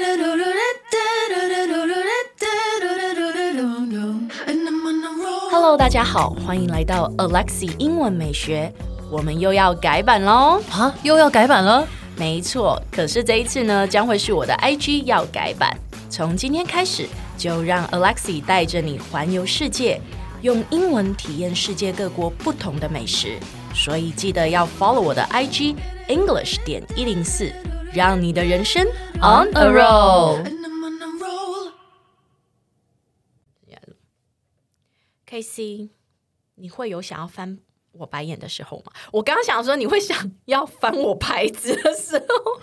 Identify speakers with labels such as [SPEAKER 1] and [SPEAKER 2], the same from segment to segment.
[SPEAKER 1] Hello， 大家好，歡迎來到 Alexi 英文美學。我們又要改版嘍！
[SPEAKER 2] 啊，又要改版了？
[SPEAKER 1] 沒錯，可是這一次呢，將會是我的 IG 要改版。從今天開始，就讓 Alexi 帶着你環遊世界，用英文體驗世界各國不同的美食。所以記得要 follow 我的 IG English.104，讓你的人生 on a roll。KC， 你會有想要翻我白眼的時候嗎？我剛剛想說你會想要翻我牌子的時候，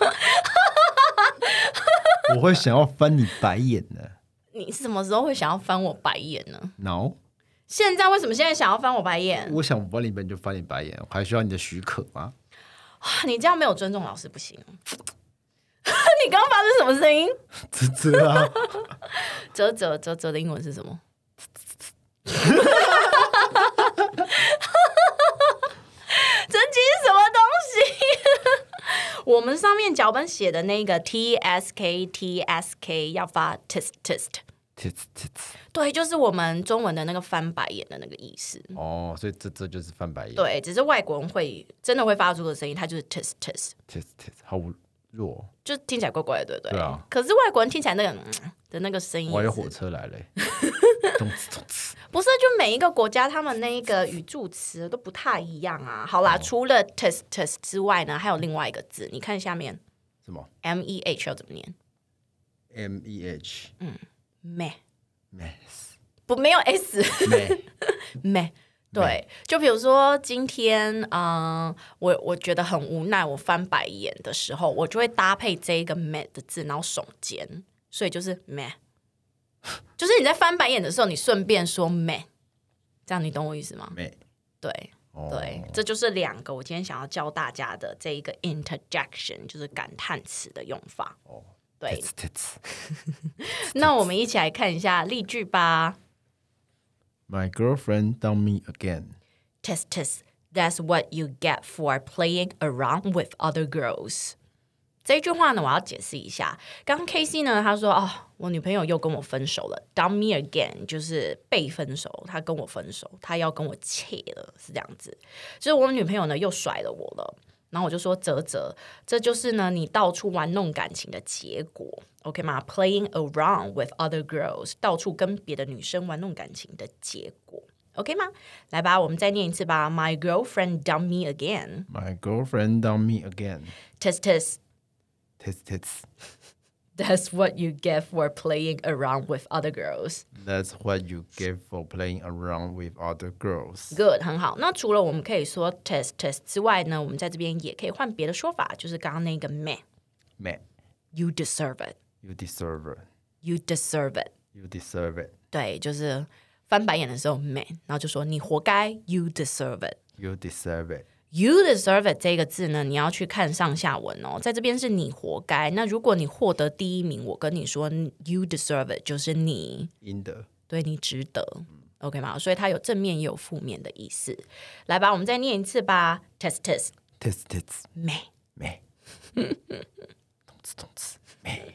[SPEAKER 2] 我會想要翻你白眼的。
[SPEAKER 1] 你什麼時候會想要翻我白眼呢
[SPEAKER 2] ？No。
[SPEAKER 1] 現在為什麼現在想要翻我白眼？
[SPEAKER 2] 我想翻你白眼就翻你白眼，我還需要你的許可嗎？
[SPEAKER 1] 你這樣沒有尊重老師不行。你剛剛發出什麼聲音？
[SPEAKER 2] 嘖嘖啊！
[SPEAKER 1] 嘖嘖嘖嘖的英文是什麼？這集是什麼東西？我們上面腳本寫的那個 TSK 要發 test。對，就是我們中文的那個翻白眼的那個意思。
[SPEAKER 2] 哦，所以這就是翻白眼。
[SPEAKER 1] 對，只是外國人真的會發出的聲音，它就是 test，
[SPEAKER 2] 好弱，
[SPEAKER 1] 就聽起來怪怪的，对不对？
[SPEAKER 2] 对啊。
[SPEAKER 1] 可是外國人聽起來那個的那個聲音，
[SPEAKER 2] 我有火車來了。
[SPEAKER 1] 不是，就每一個國家他們那個語助詞都不太一樣啊。好啦，除了 test 之外呢，還有另外一個字，你看下面
[SPEAKER 2] 什麼
[SPEAKER 1] ？meh 要怎麼念
[SPEAKER 2] ？meh，
[SPEAKER 1] meh，
[SPEAKER 2] 不
[SPEAKER 1] 沒有 s， meh。对，就比如說今天，我覺得很無奈，我翻白眼的時候，我就會搭配這個 meh 的字，然後聳肩，所以就是 meh。就是你在翻白眼的時候，你順便說 meh， 這樣你懂我意思嗎？對，對，這就是兩個我今天想要教大家的這一個 interjection， 就是感嘆詞的用法。對，那我們一起來看一下例句吧。
[SPEAKER 2] My girlfriend dumped me again.
[SPEAKER 1] Test. That's what you get for playing around with other girls. 這句話呢，我要解釋一下。剛剛 KC 呢，他說我女朋友又跟我分手了。Dump me again 就是被分手，他跟我分手，他要跟我切了，是這樣子。就是我女朋友呢又甩了我了。然後我就說嘖，這就是呢你到處玩弄感情的結果 ，OK 嗎 ？Playing around with other girls， 到處跟別的女生玩弄感情的結果 ，OK 嗎？來吧，我們再念一次吧。My girlfriend dumped me again.
[SPEAKER 2] My girlfriend dumped me again.
[SPEAKER 1] Test.
[SPEAKER 2] That's
[SPEAKER 1] what you get for playing around with other girls.
[SPEAKER 2] That's what you get for playing around with other girls.
[SPEAKER 1] Good， 很好。那除了我們可以說 test 之外呢，我們在這邊也可以換別的說法，就是剛剛那個 meh. You deserve it.
[SPEAKER 2] You deserve it.
[SPEAKER 1] You deserve it.
[SPEAKER 2] You deserve it.
[SPEAKER 1] 對，就是翻白眼的時候 meh， 然後就說你活該 You deserve it.
[SPEAKER 2] You deserve it.
[SPEAKER 1] You deserve it 這個字呢，你要去看上下文哦。在這邊是你活該，那如果你獲得第一名，我跟你說 You deserve it 就是你
[SPEAKER 2] 應得，對，
[SPEAKER 1] 你值得，OK 嗎？所以它有正面也有負面的意思。來吧，我們再念一次吧。Test meh
[SPEAKER 2] 動詞meh。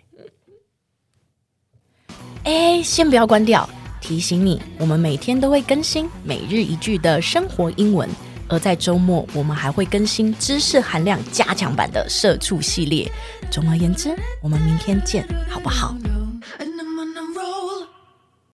[SPEAKER 1] 先不要關掉，提醒你，我們每天都會更新每日一句的生活英文。而在週末，我們還會更新知識含量加強版的社畜系列。總而言之，我們明天見，好不好？